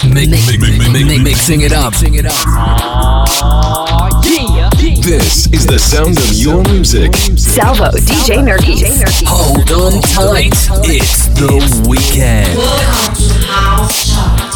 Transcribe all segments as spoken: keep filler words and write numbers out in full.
Mixing it up. This is the sound of your music. Salvo D J Nerkis. Hold on tight. It's the weekend. Welcome to House Chart.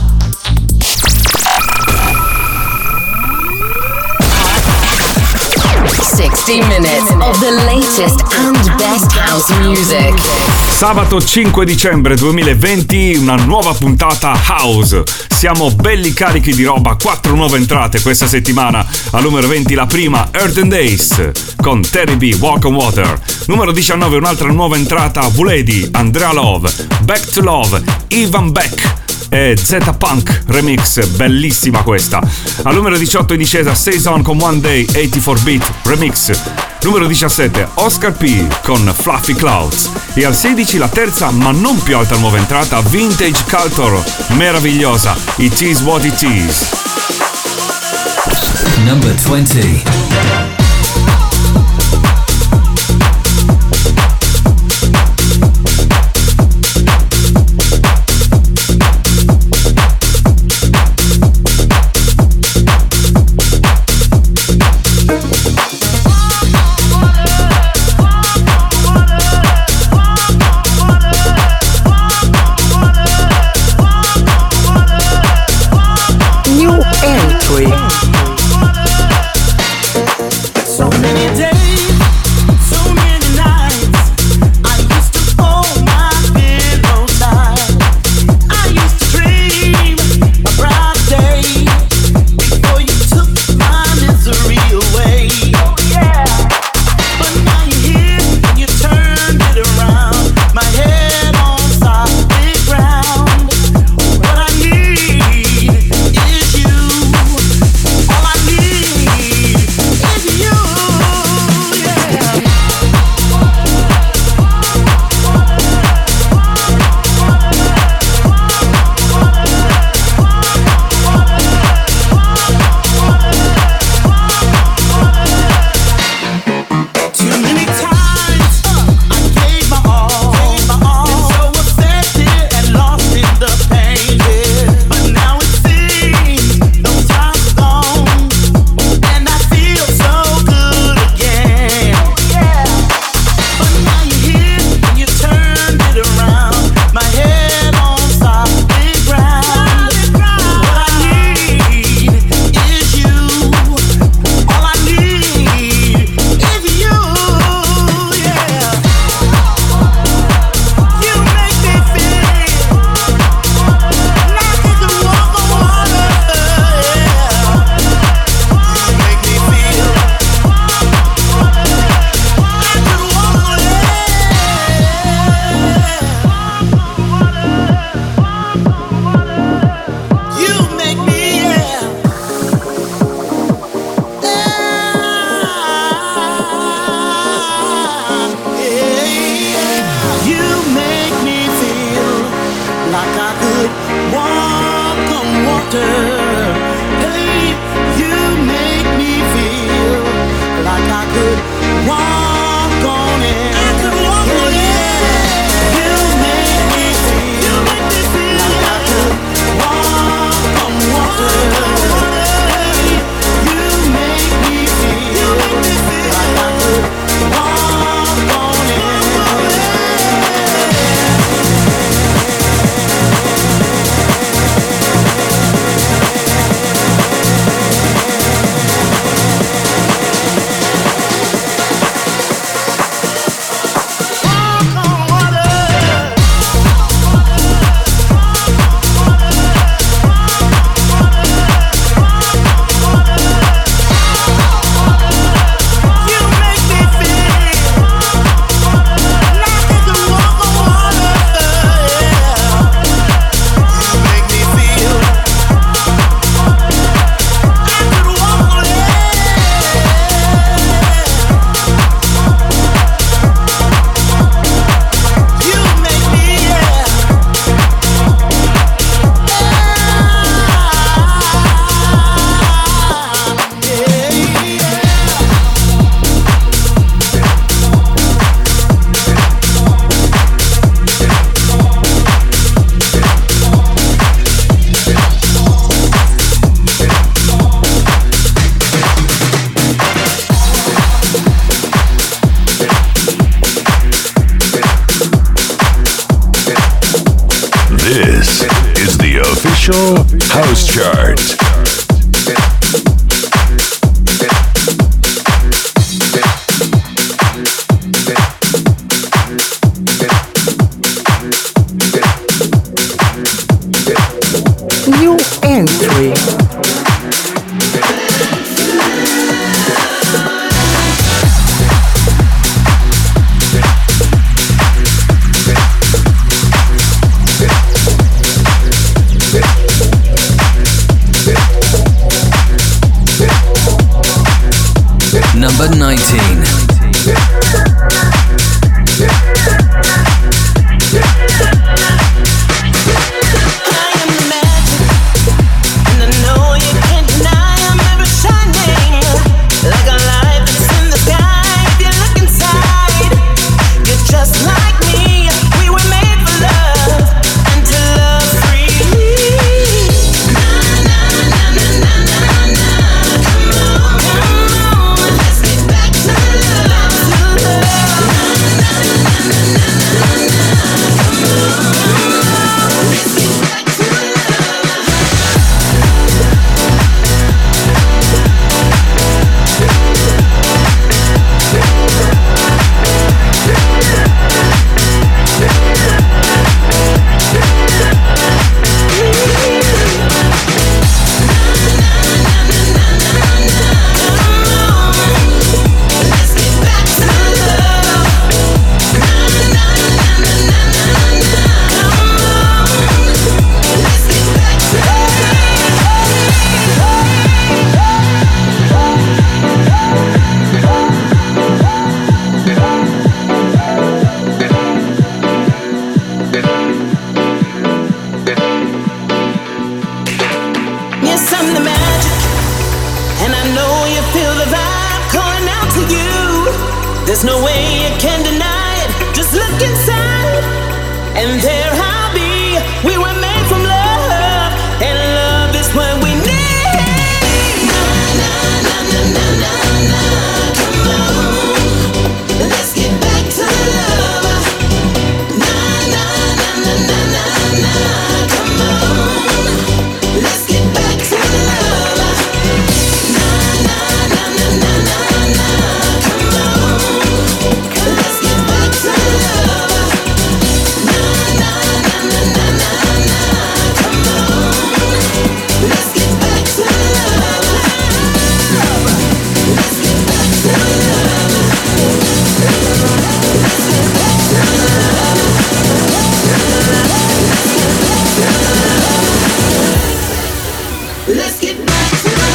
sixty minutes of the latest and best house music. Sabato cinque dicembre duemilaventi, una nuova puntata House. Siamo belli carichi di roba, quattro nuove entrate questa settimana. Al numero venti la prima, Earth and Days con Terry B, Walk on Water. Numero diciannove un'altra nuova entrata, Vuledi, Andrea Love, Back to Love, Ivan Beck e Z-Punk Remix, bellissima questa. Al numero diciotto in discesa Saison con One Day, ottantaquattro Beat Remix. Numero diciassette Oscar P con Fluffy Clouds. E al sedici la terza ma non più alta nuova entrata, Vintage Culture, meravigliosa, It Is What It Is. Number twenty. New entry. This is the official House Chart. New entry. Number nineteen. There's no way you can deny it. Just look inside, and there I'll be. We were made from love, and love is what we need. Na na na na na na na. Come on, let's get back to love. Na na na na na na na. Come on, let's get back to love. Na na na na na na na. Come on. Let's get back to love. Na na na na na na na. Come on. Let's get back to love. Let's get back to love. Let's get back to love. Let's get back to love.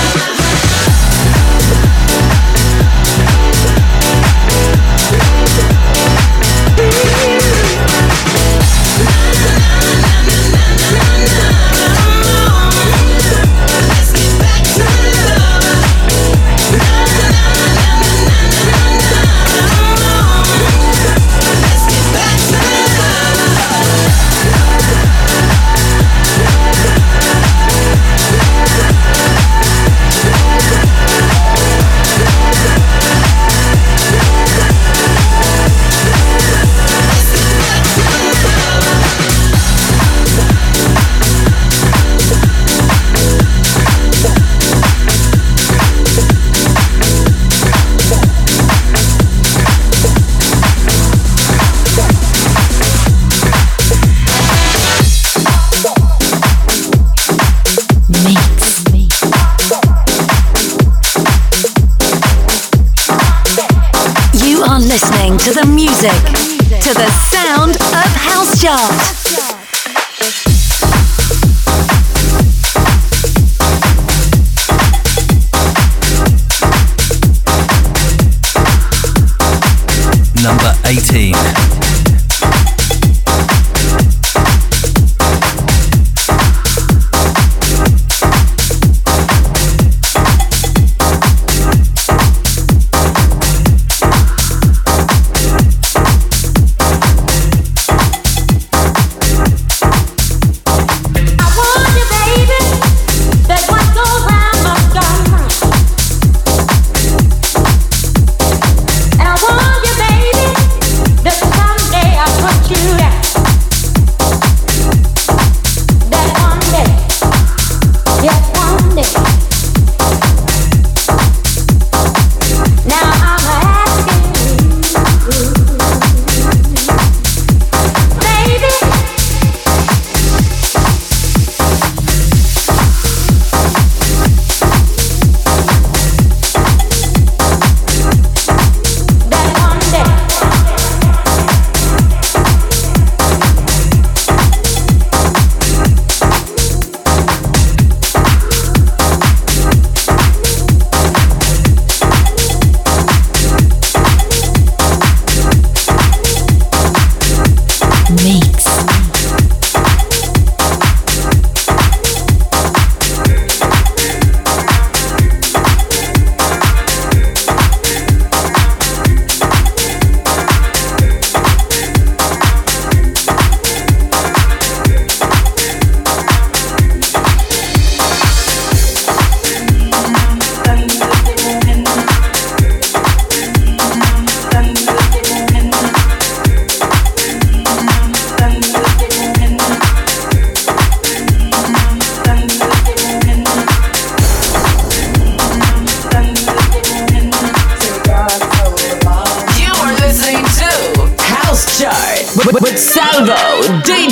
Listening to the music, to the sound of House Chart. Number eighteen.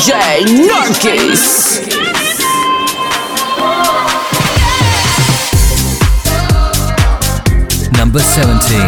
J Narkis. Number seventeen.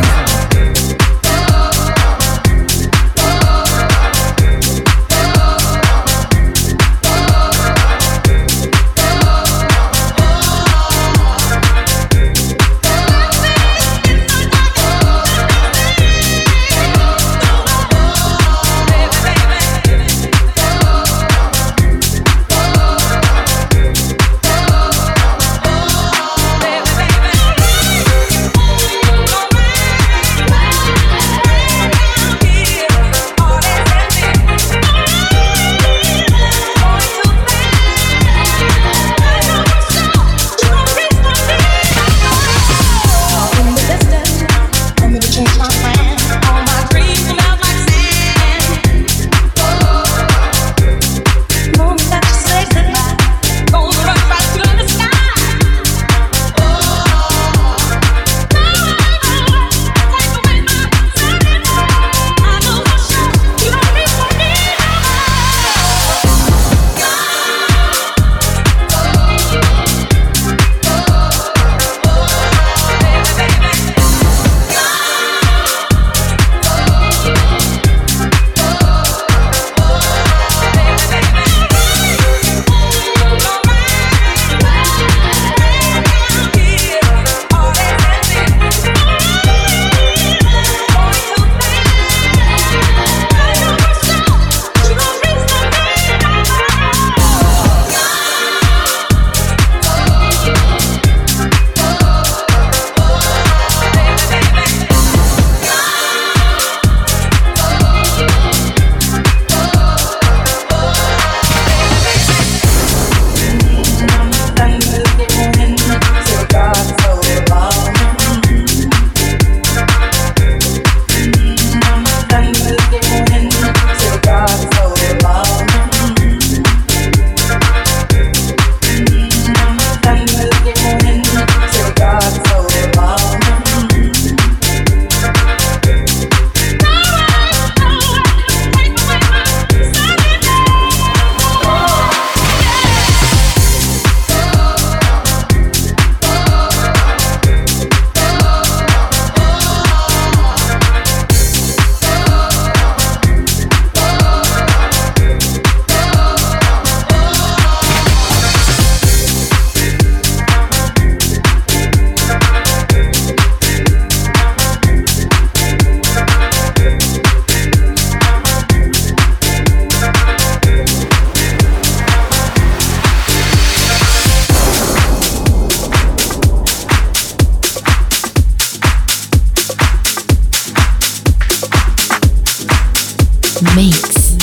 Mix.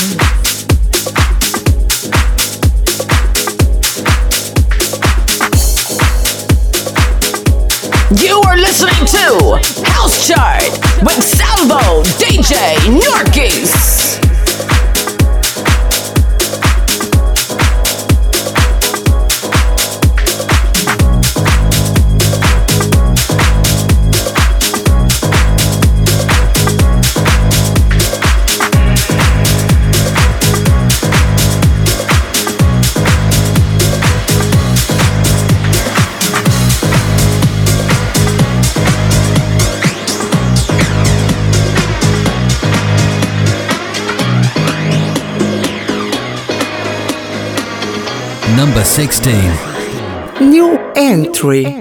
You are listening to House Chart with Salvo D J Narkis. Number sixteen. New entry.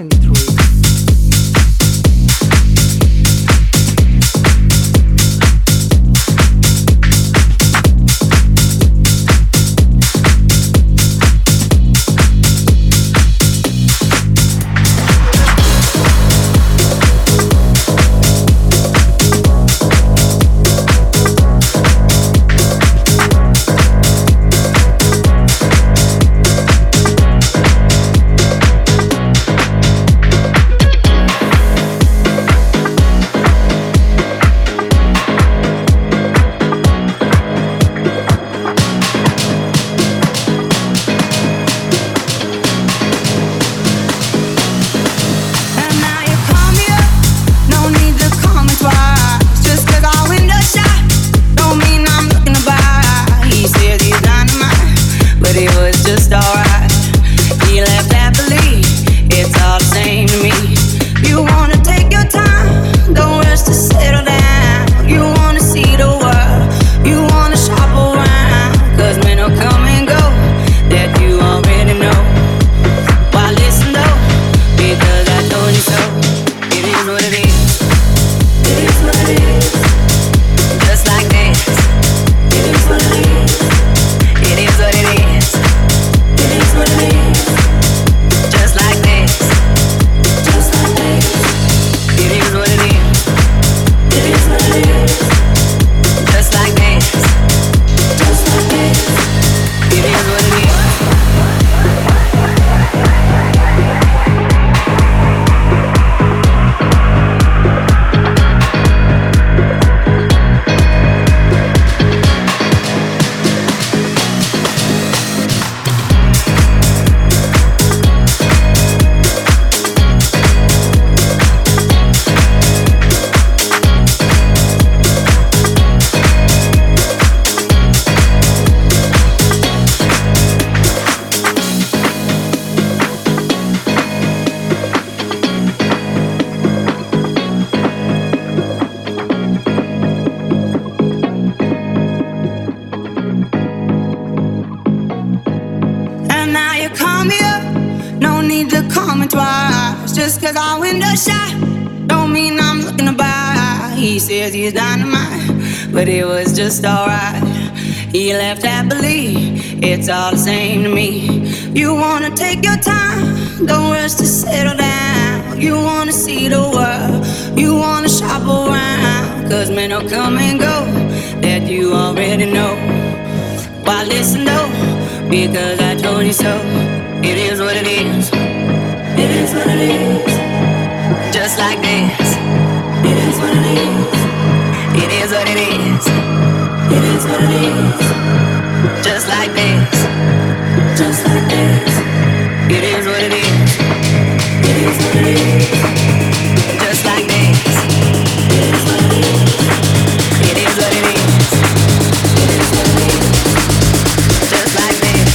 twice. Just cause I window shot don't mean I'm looking to buy. He says he's dynamite, but it was just alright. He left happily, it's all the same to me. You wanna take your time, don't rush to settle down. You wanna see the world, you wanna shop around. Cause men will come and go, that you already know. Why listen though, because I told you so. It is what it is, it is what it is. Just like this, it is what it is. It is what it is, it is what it is. Just like this, just like this. It is what it is, it is what it is. Just like this, it is what it is. It is what it is, it is what it is. Just like this,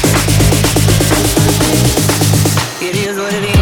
it is what it is.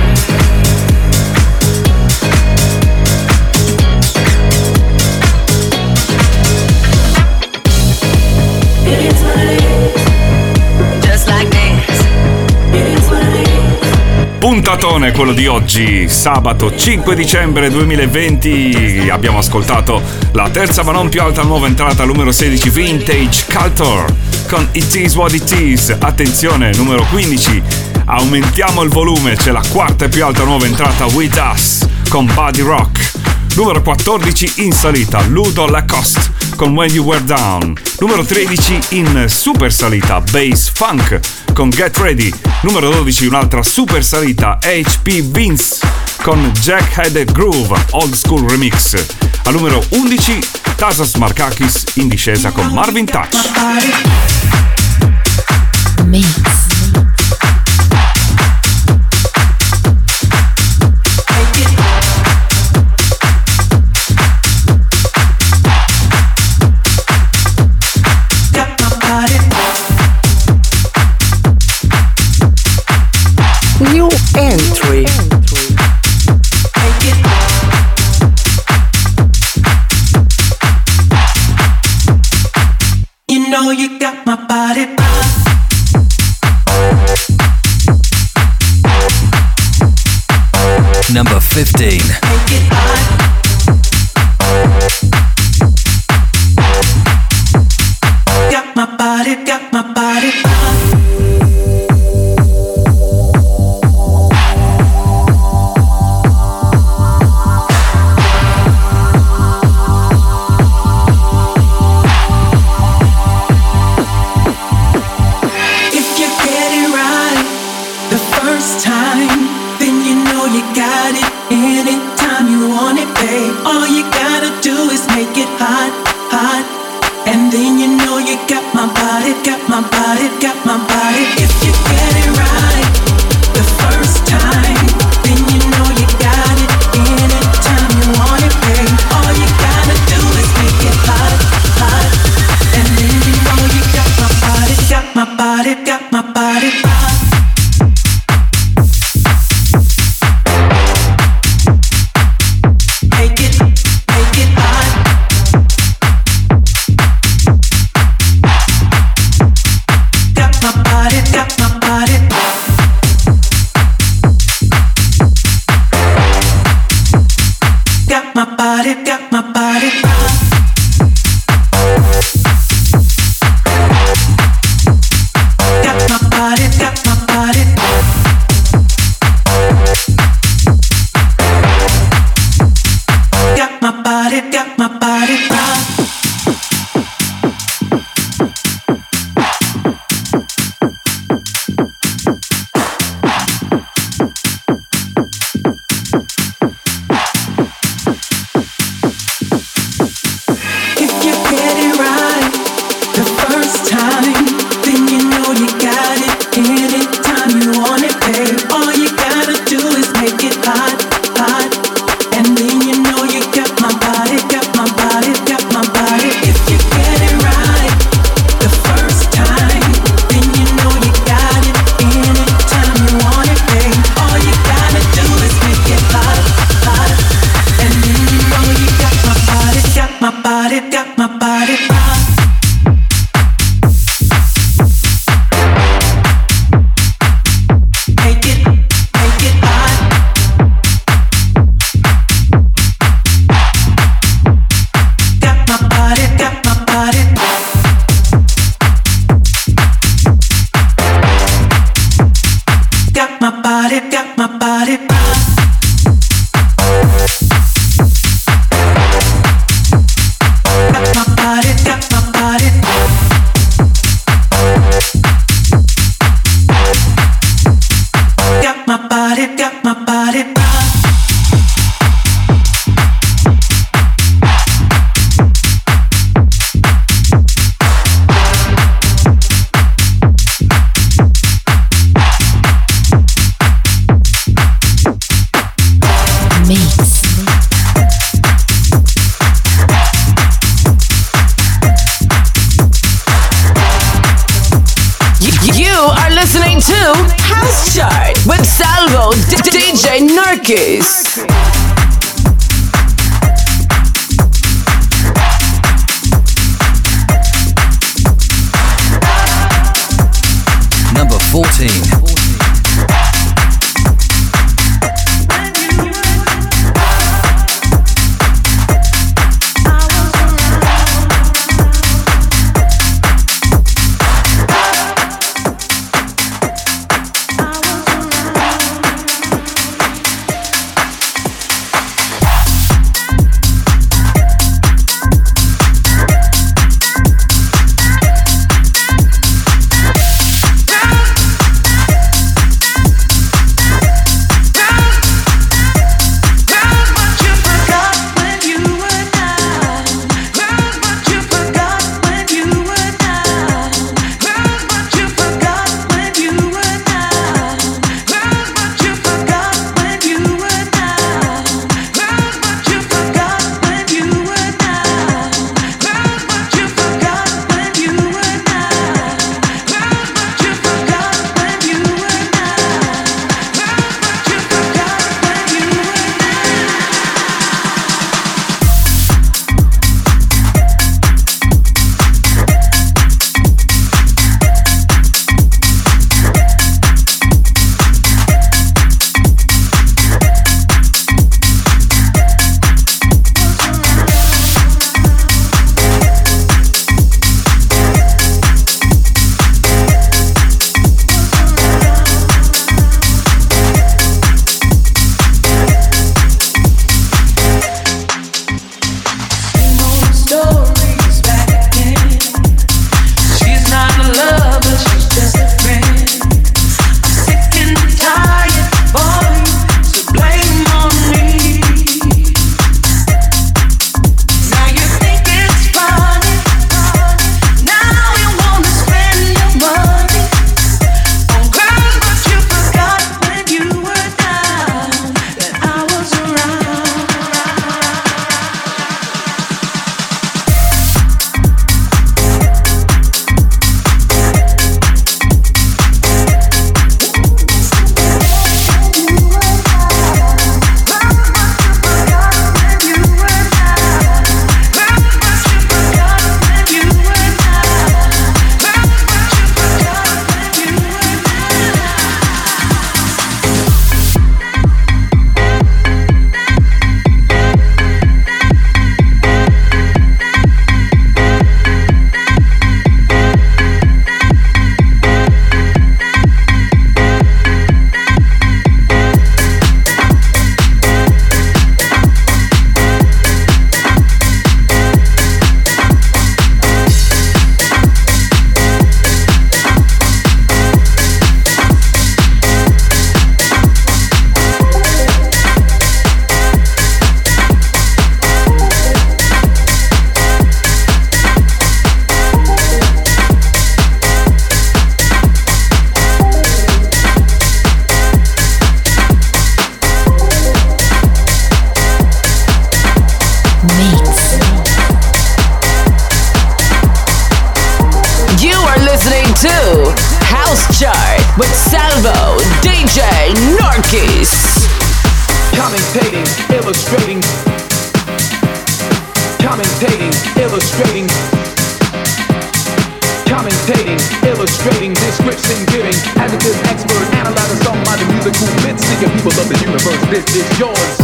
Puntatone quello di oggi, sabato cinque dicembre duemilaventi. Abbiamo ascoltato la terza ma non più alta nuova entrata, numero sedici, Vintage Culture con It Is What It Is. Attenzione, numero quindici, aumentiamo il volume, c'è la quarta e più alta nuova entrata, With Us con Body Rock. Numero quattordici in salita, Ludo Lacoste con When You Were Down. Numero tredici in super salita, Bass Funk con Get Ready. Numero dodici un'altra super salita, H P Vince con Jack-Headed Groove Old School Remix. Al numero undici Tassos Markakis in discesa con Marvin Touch. Mix. New entry. You know you got my body. Number fifteen. Got my body, got my body. All you gotta do is make it hot, hot. And then you know you got my body, got my body, got my body. If you get it right the first time, then you know you got it anytime you want it, babe. All you gotta do is make it hot, hot. And then you know you got my body, got my body, got my body hot. are listening to House Chart with Salvo D J Narkis. Number fourteen. with Salvo D J Narkis. Commentating, illustrating. Commentating, illustrating. Commentating, illustrating, description giving. Adjective expert, analyzing song by the musical bits. Seeking people of the universe, this is yours.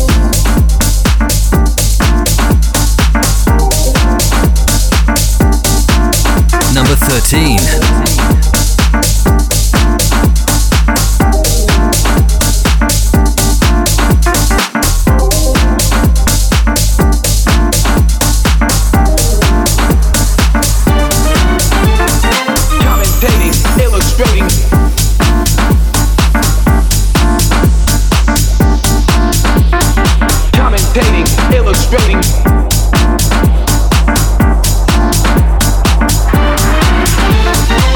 Number thirteen. Illustrating.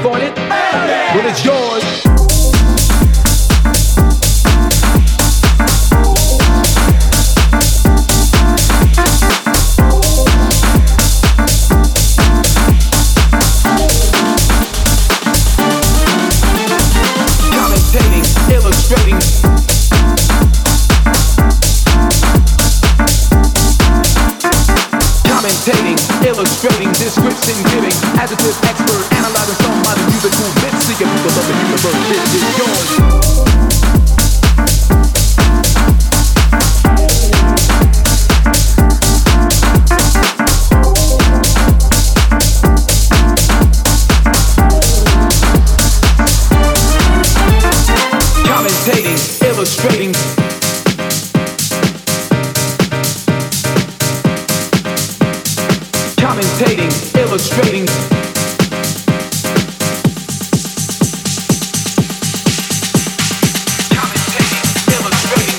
want it? Well, it's yours. Illustrating, commentating, illustrating, description giving, adjective expert, analyzing some of the musical bits, seeking people of the universe. This is yours. Illustrating, commentating, illustrating, commentating, illustrating,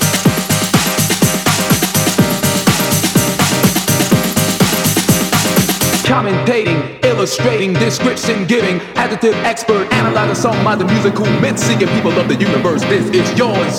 commentating, illustrating, description giving, adjective expert, analyzing some of the musical myths, seeking people of the universe. This is yours.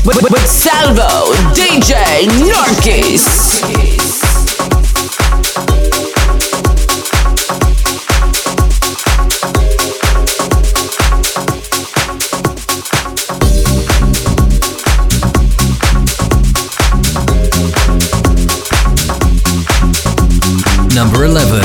with, with Salvo, D J Norkis. Number eleven.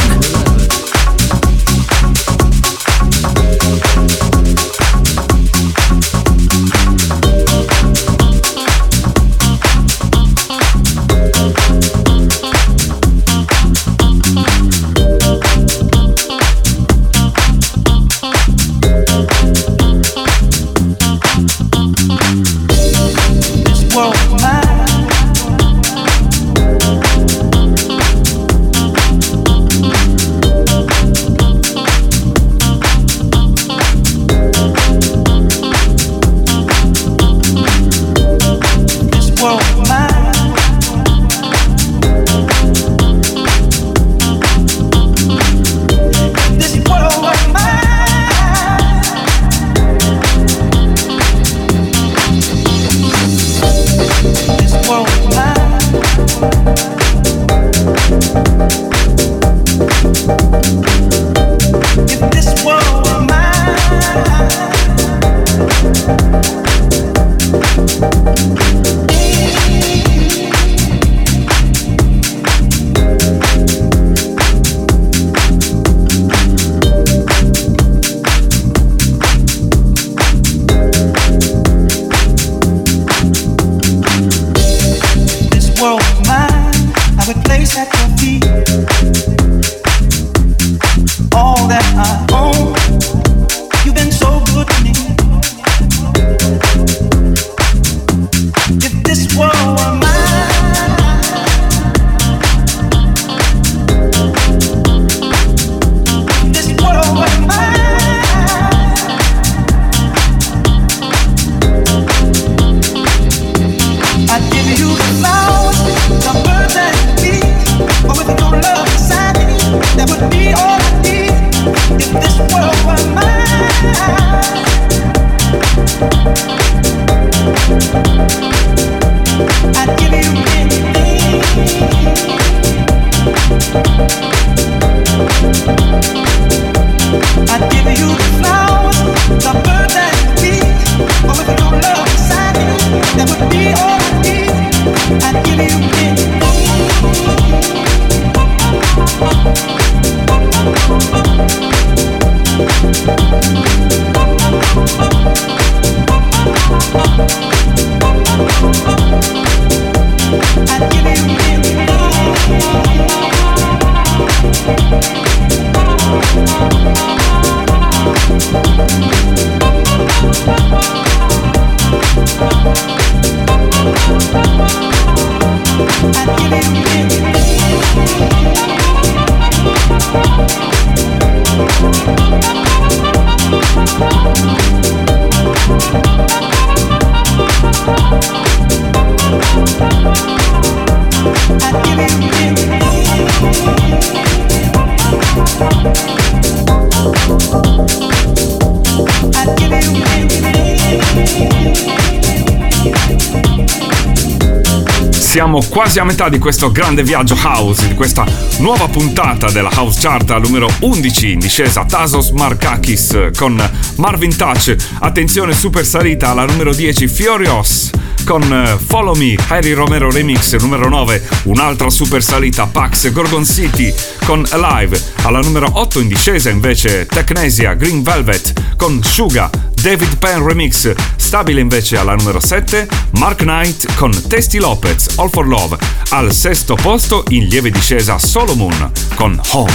Siamo quasi a metà di questo grande viaggio house, di questa nuova puntata della House Chart al numero undici, in discesa Tasos Markakis con Marvin Touch. Attenzione, super salita alla numero dieci, Furious con Follow Me, Harry Romero Remix. Numero nove, un'altra super salita, Pax Gorgon City con Alive. Alla numero otto in discesa invece Technesia, Green Velvet con Suga, David Penn Remix. Stabile invece alla numero sette, Mark Knight con Tasty Lopez, All for Love. Al sesto posto in lieve discesa Solomon con Home.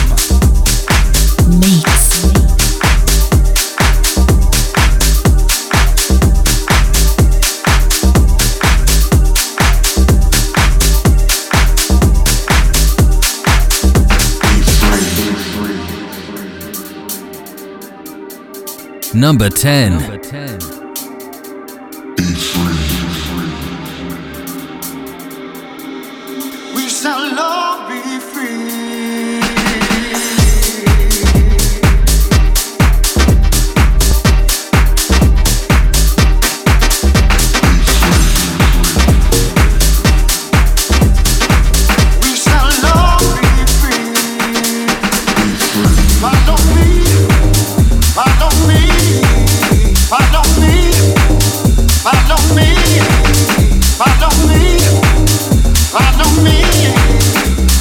Mix. Number ten. We shall all be free.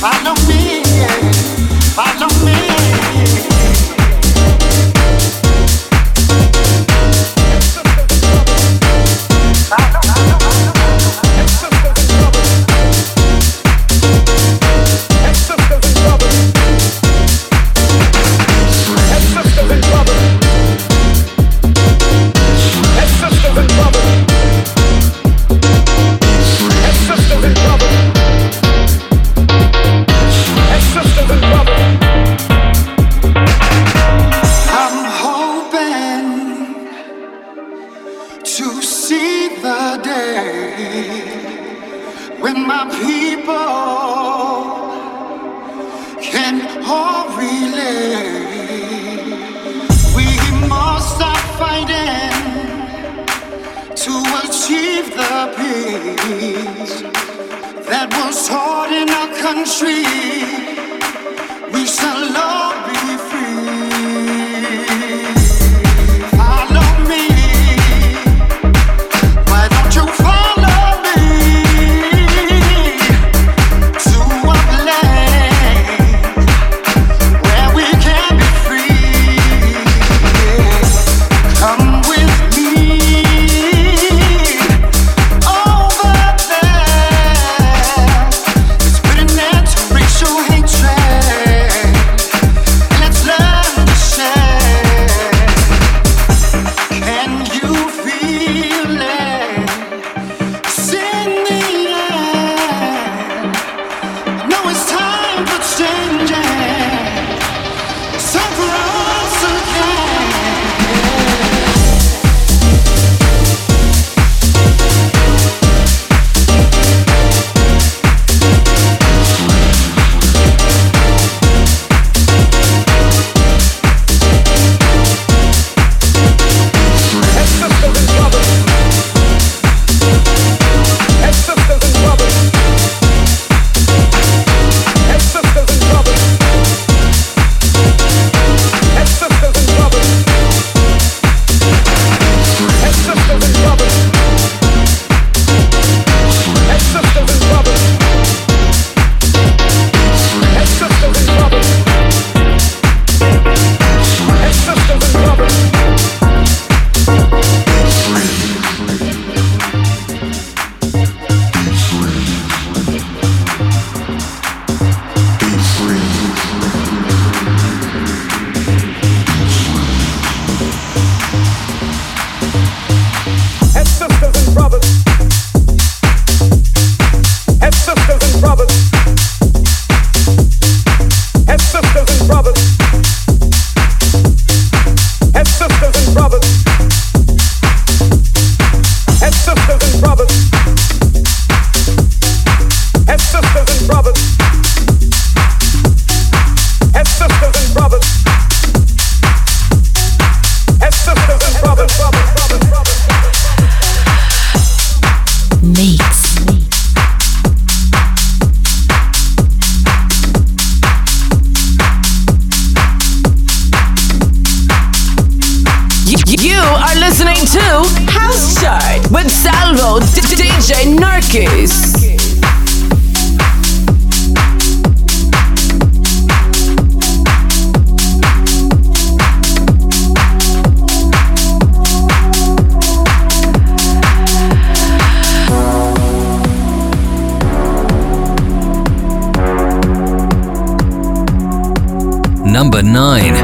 Number nine.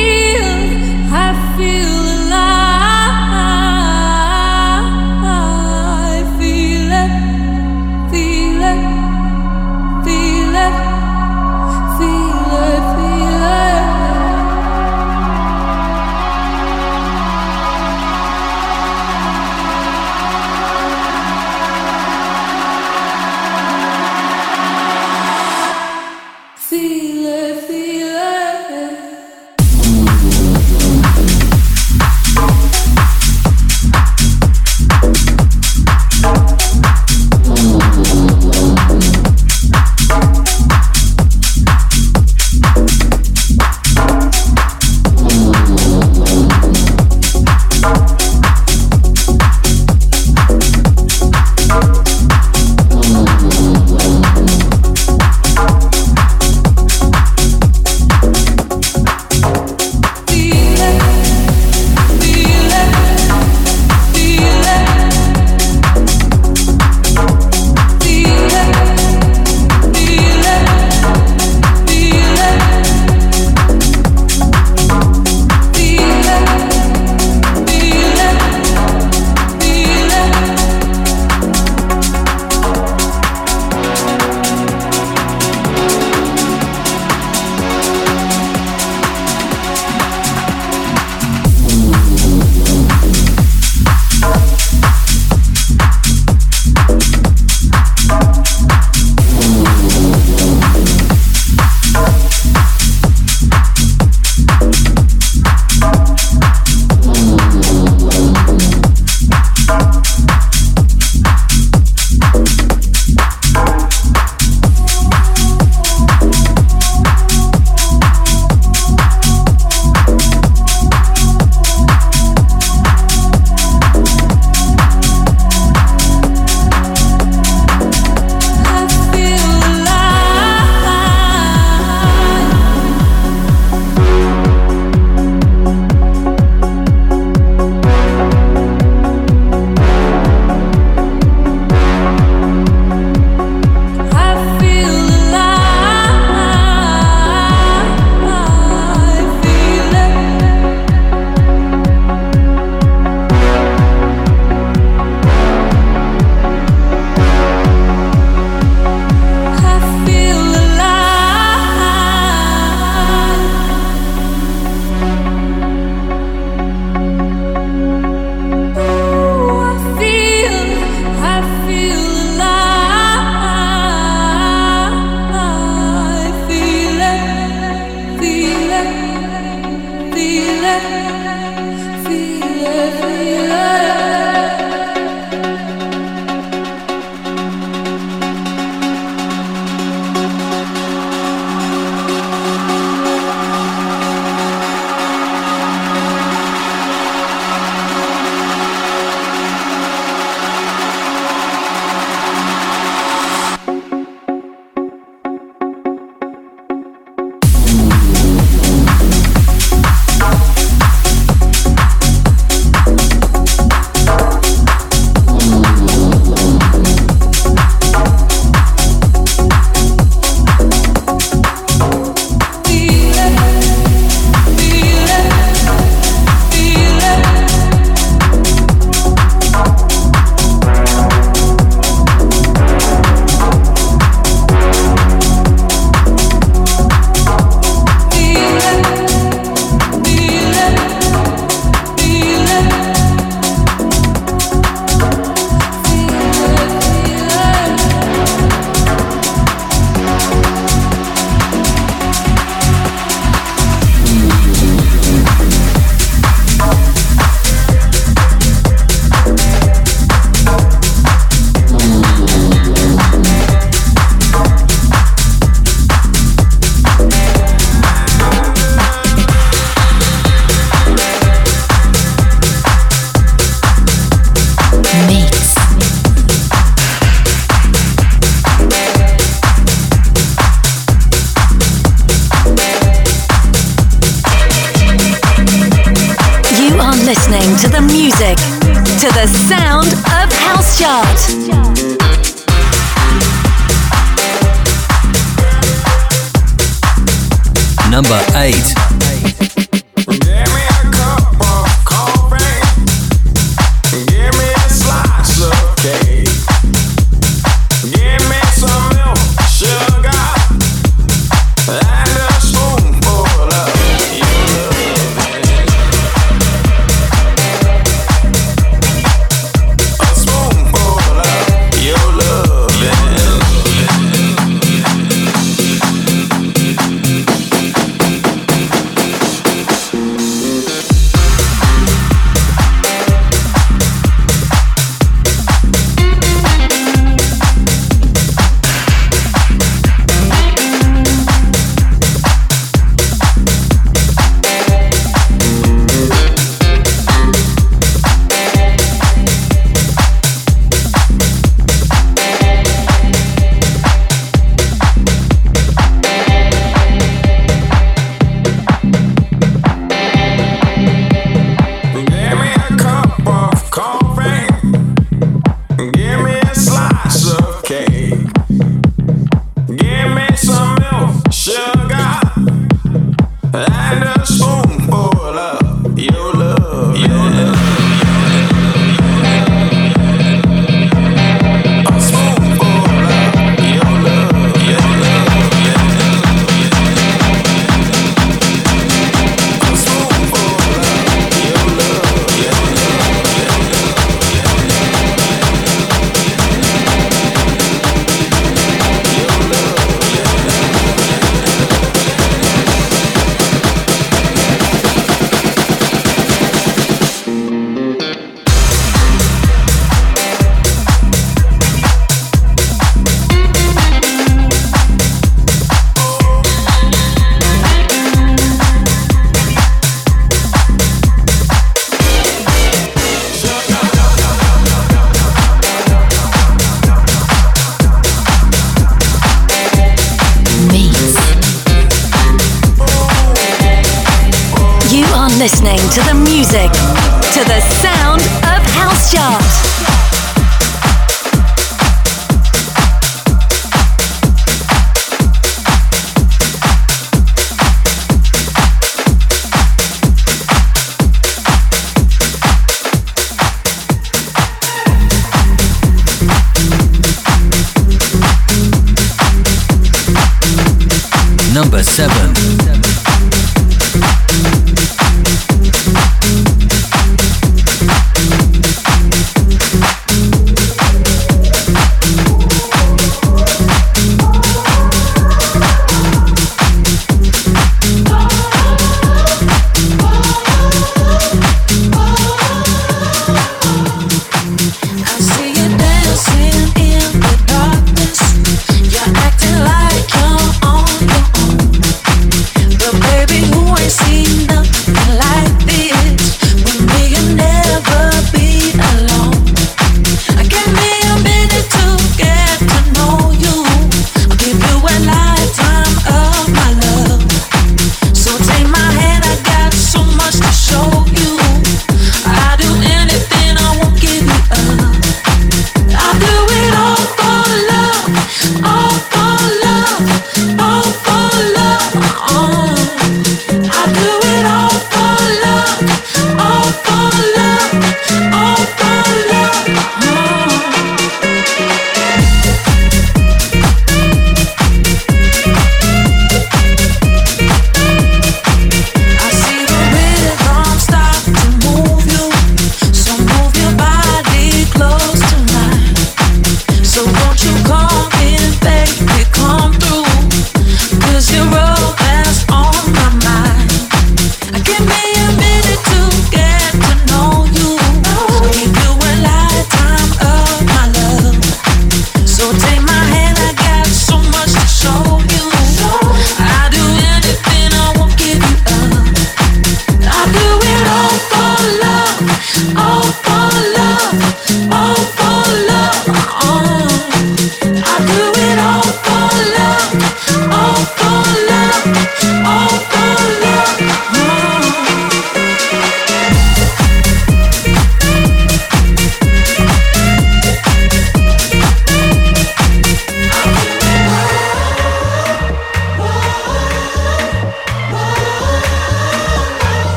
I feel alive. the sound of House Chart. Number eight. Listening to the music, to the sound of House Chart. Number seven. You're acting like you're on your own.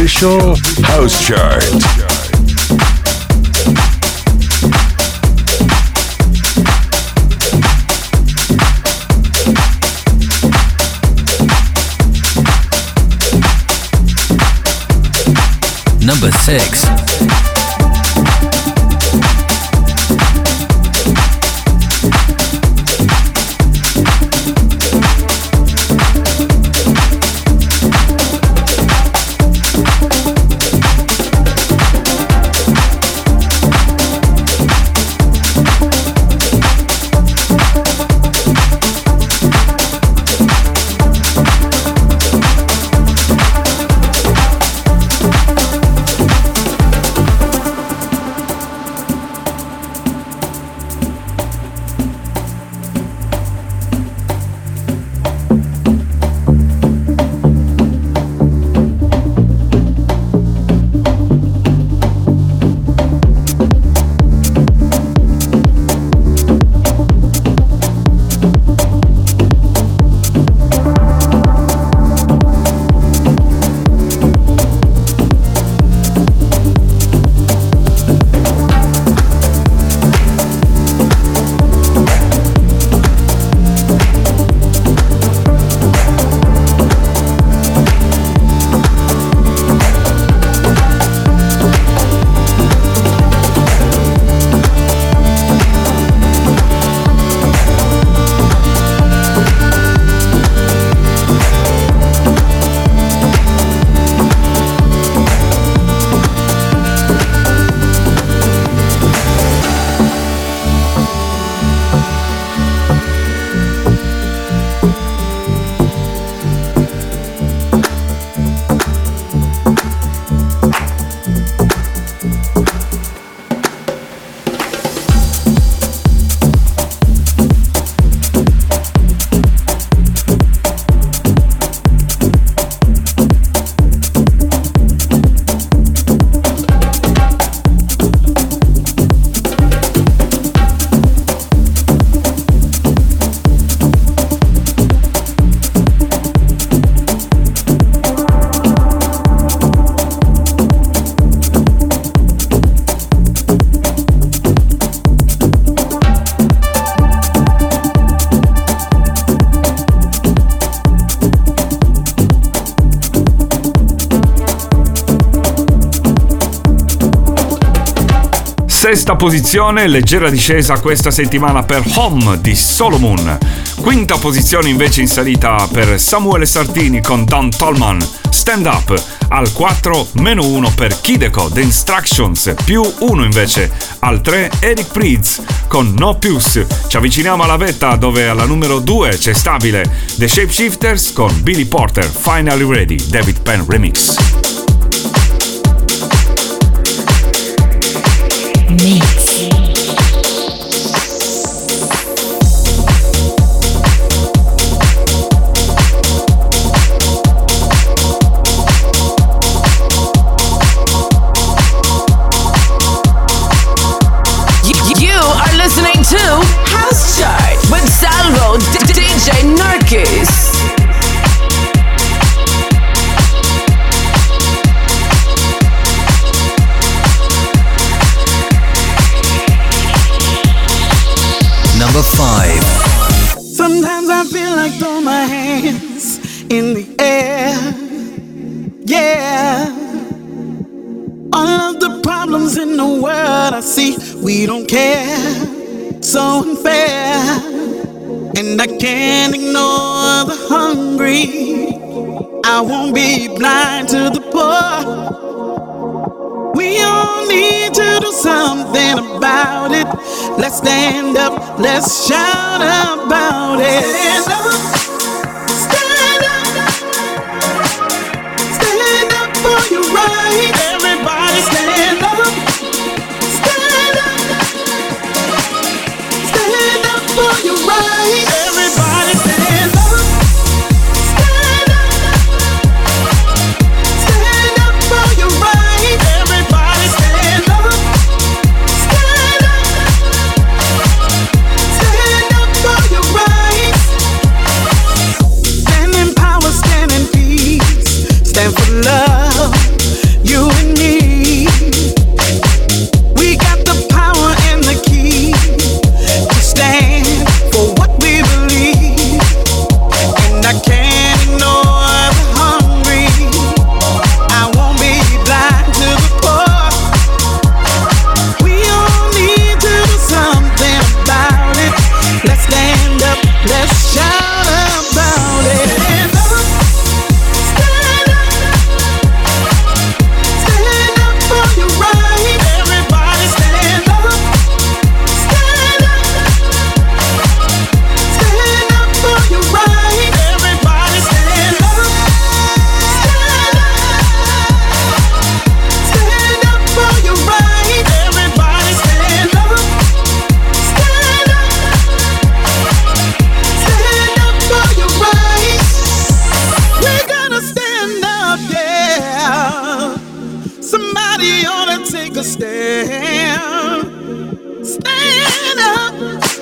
official house chart. Number six. Sesta posizione, leggera discesa questa settimana per Home di Solomon. Quinta posizione invece in salita per Samuele Sartini con Don Tolman, Stand Up. Al quattro, meno uno per Kideko, The Instructions, più uno invece. Al tre, Eric Prydz con No Pius. Ci avviciniamo alla vetta dove alla numero due c'è stabile The Shapeshifters con Billy Porter, Finally Ready, David Penn Remix. Mix. You are listening to House Chart with Salvo D- D J Narkis. Number five. Sometimes I feel like throw my hands in the air. Yeah. All of the problems in the world I see, we don't care. So unfair. And I can't ignore the hungry. I won't be blind to the poor. We all need to do something about it. Let's stand up, let's shout about it. Stand up, stand up, stand up for your right. Everybody stand up, stand up, stand up for your right. Everybody stand up, stand up, stand up for your right. Everybody stand up, stand up, stand up for your right. yeah. Stand up,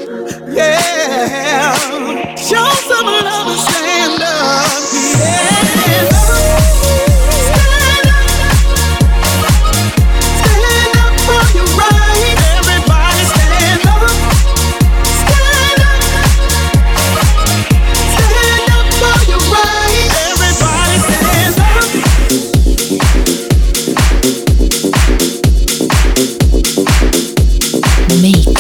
yeah. Show some love and stand up, yeah. Stand up, stand up for your right. Everybody stand up, stand up, stand up for your right. Everybody stand up. Mix.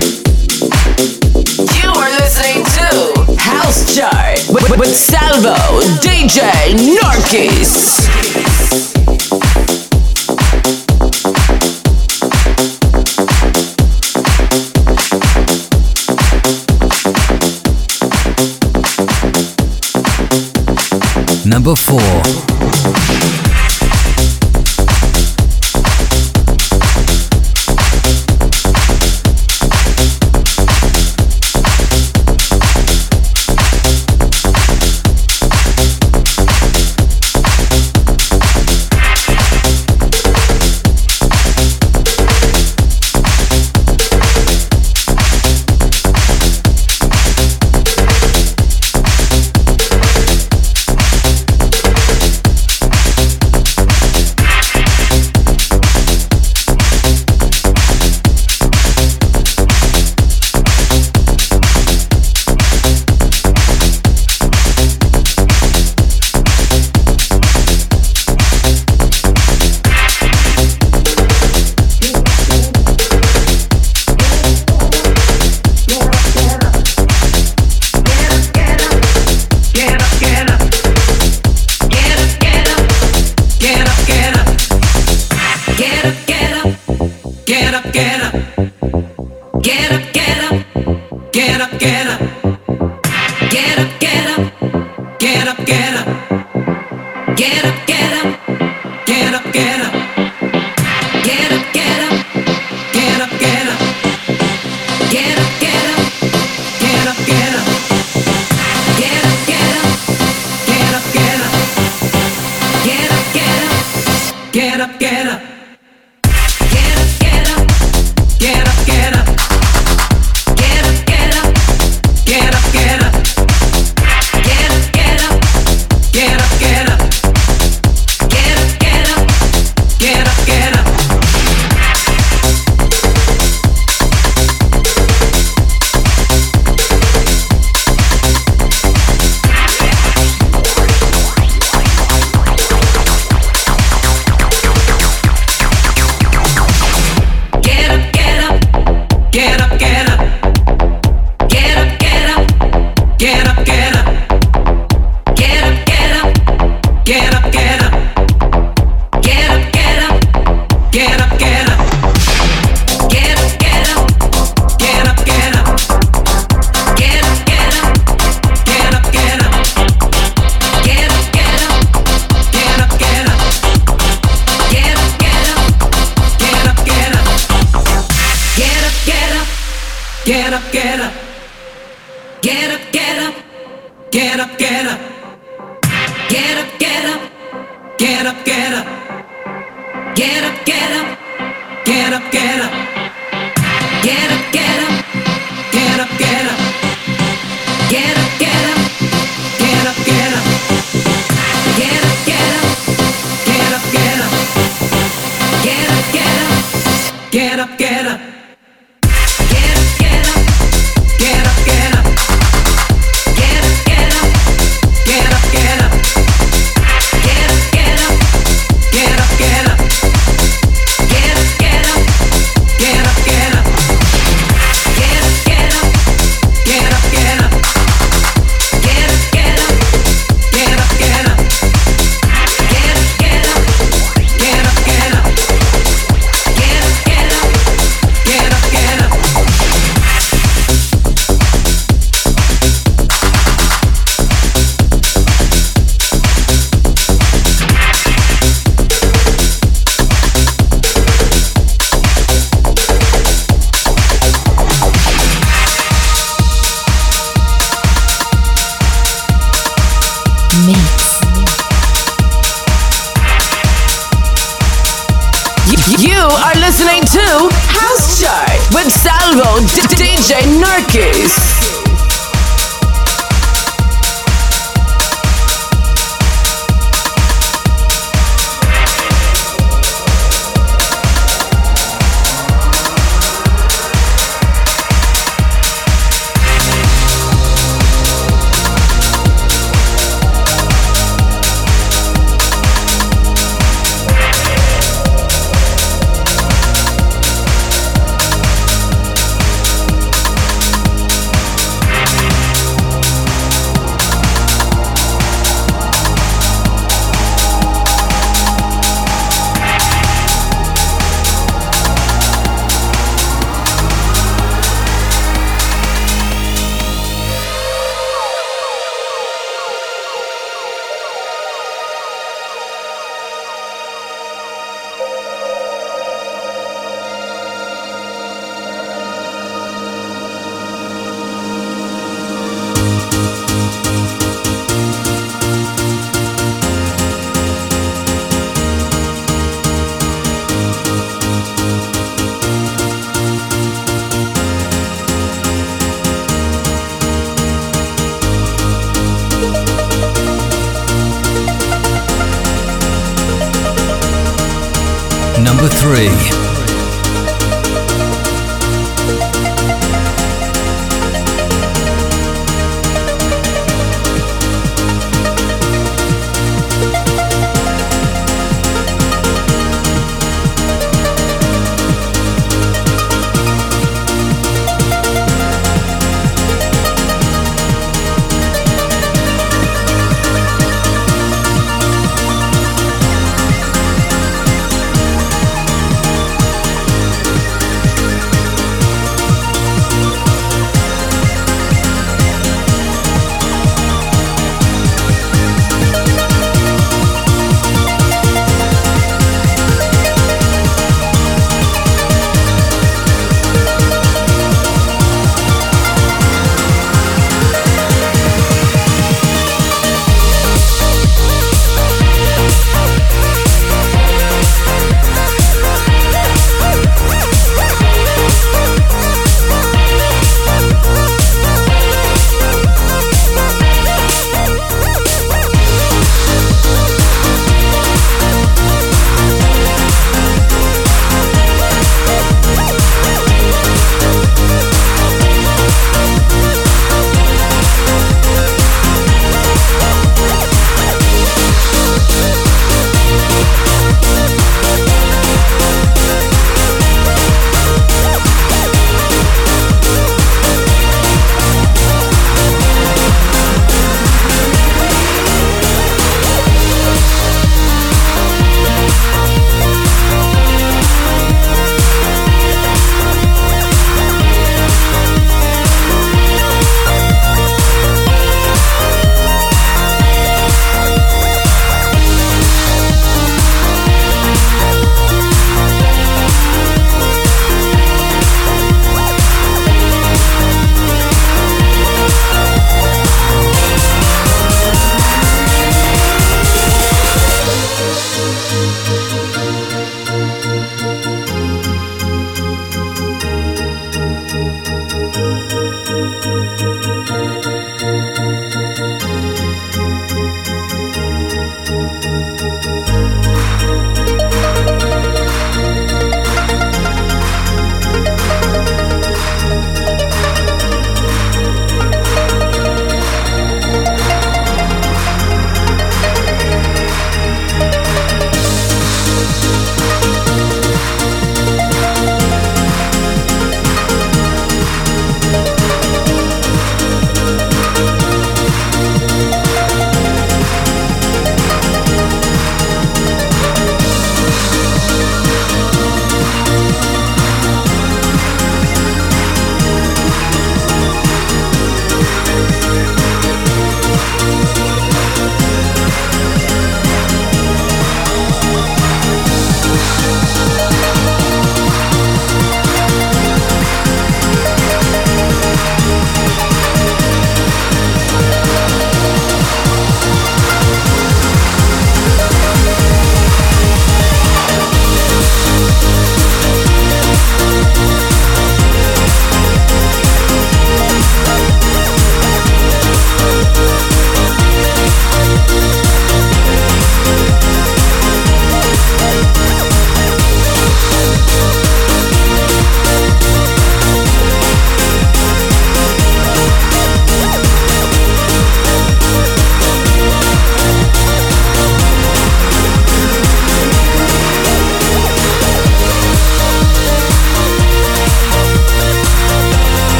You are listening to House Chart with, with Salvo, D J Narkis. Number four. You are listening with Salvo, D J Nurkis. Number three.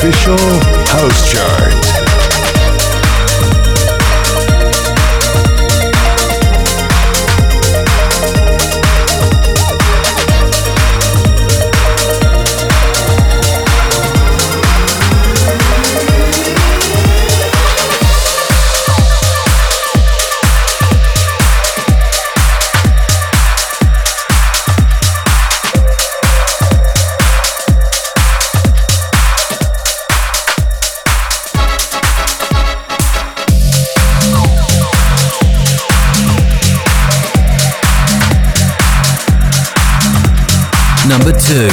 official house chart. Number two.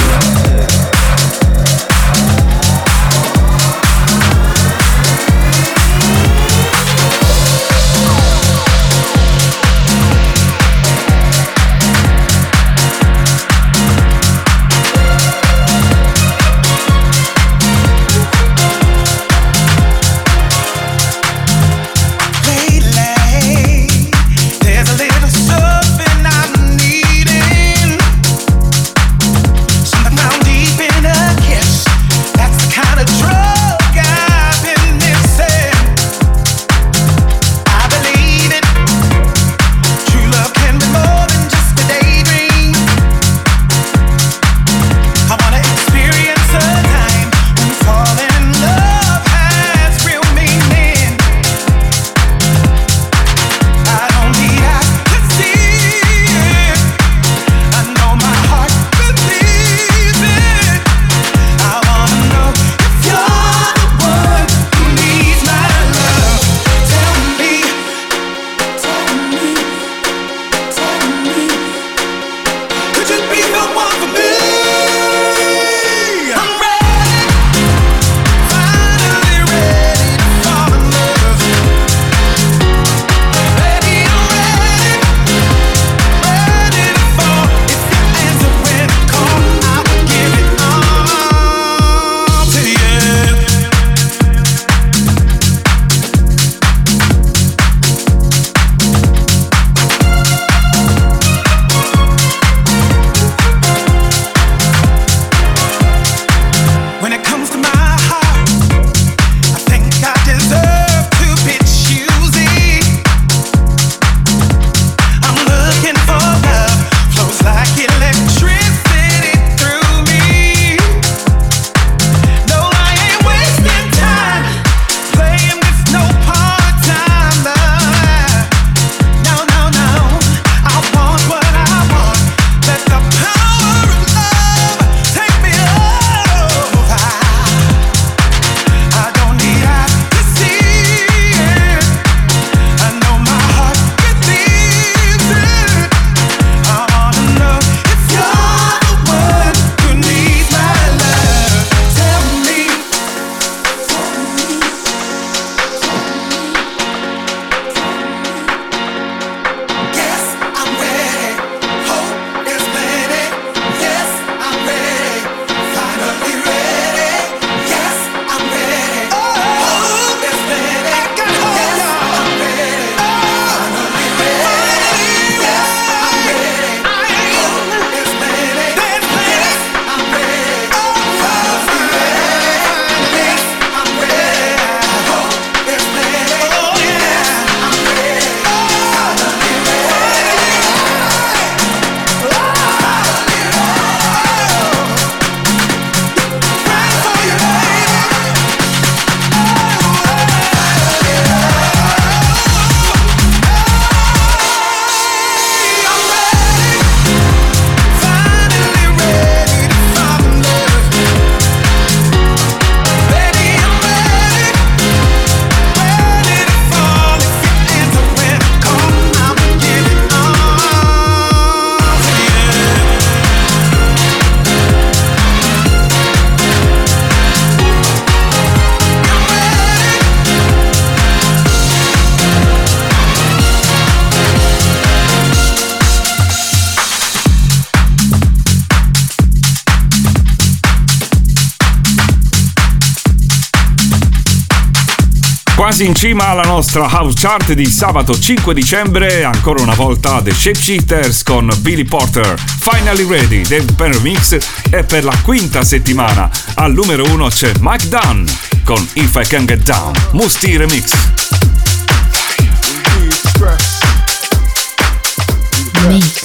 Found Quasi in cima alla nostra house chart di sabato cinque dicembre, ancora una volta The Shapeshifters con Billy Porter, Finally Ready, Dave Penn Remix, e per la quinta settimana al numero uno c'è Mike Dunn con If I Can Get Down, Musti Remix. Mix.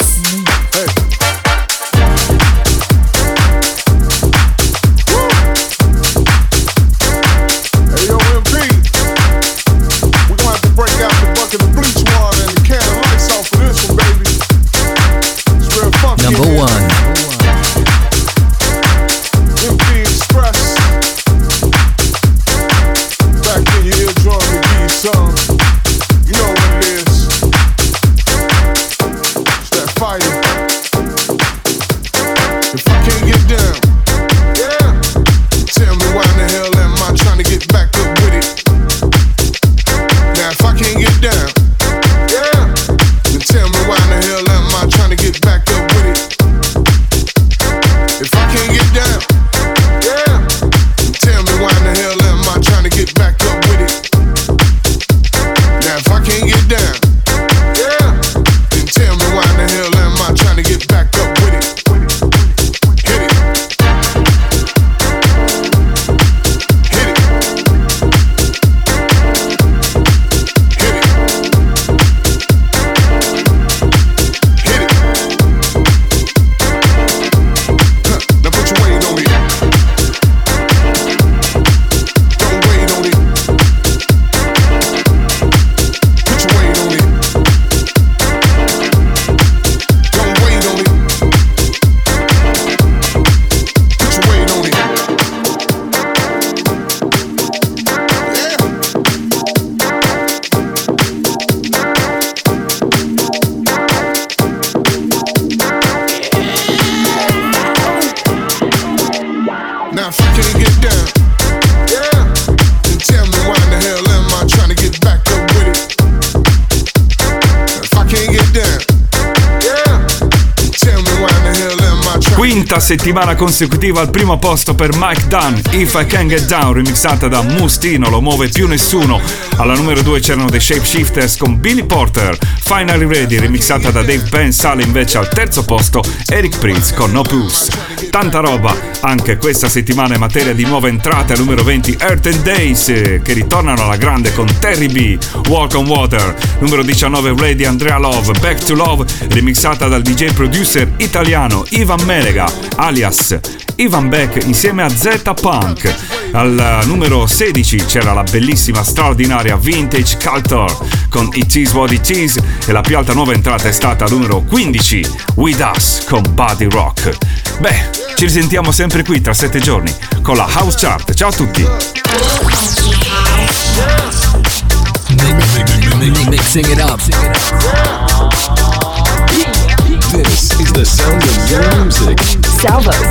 Number one. Quinta settimana consecutiva al primo posto per Mike Dunn, If I Can Get Down, remixata da Musti, non lo muove più nessuno. Alla numero due c'erano The Shapeshifters con Billy Porter, Finally Ready, remixata da Dave Penn. Sale invece al terzo posto Eric Prince con No Pulse. Tanta roba anche questa settimana in materia di nuove entrate. Al numero venti Earth and Days, che ritornano alla grande con Terry B, Walk on Water. Numero diciannove Ready, Andrea Love, Back to Love, remixata dal D J producer italiano Ivan Melega, alias Ivan Beck, insieme a Z Punk. Al numero sedici c'era la bellissima, straordinaria Vintage Culture con It Is What It Is, e la più alta nuova entrata è stata al numero quindici With Us con Body Rock. Beh, ci risentiamo sempre qui tra sette giorni con la House Chart. Ciao a tutti. Mixing it up. This is the sound of your music. Salvo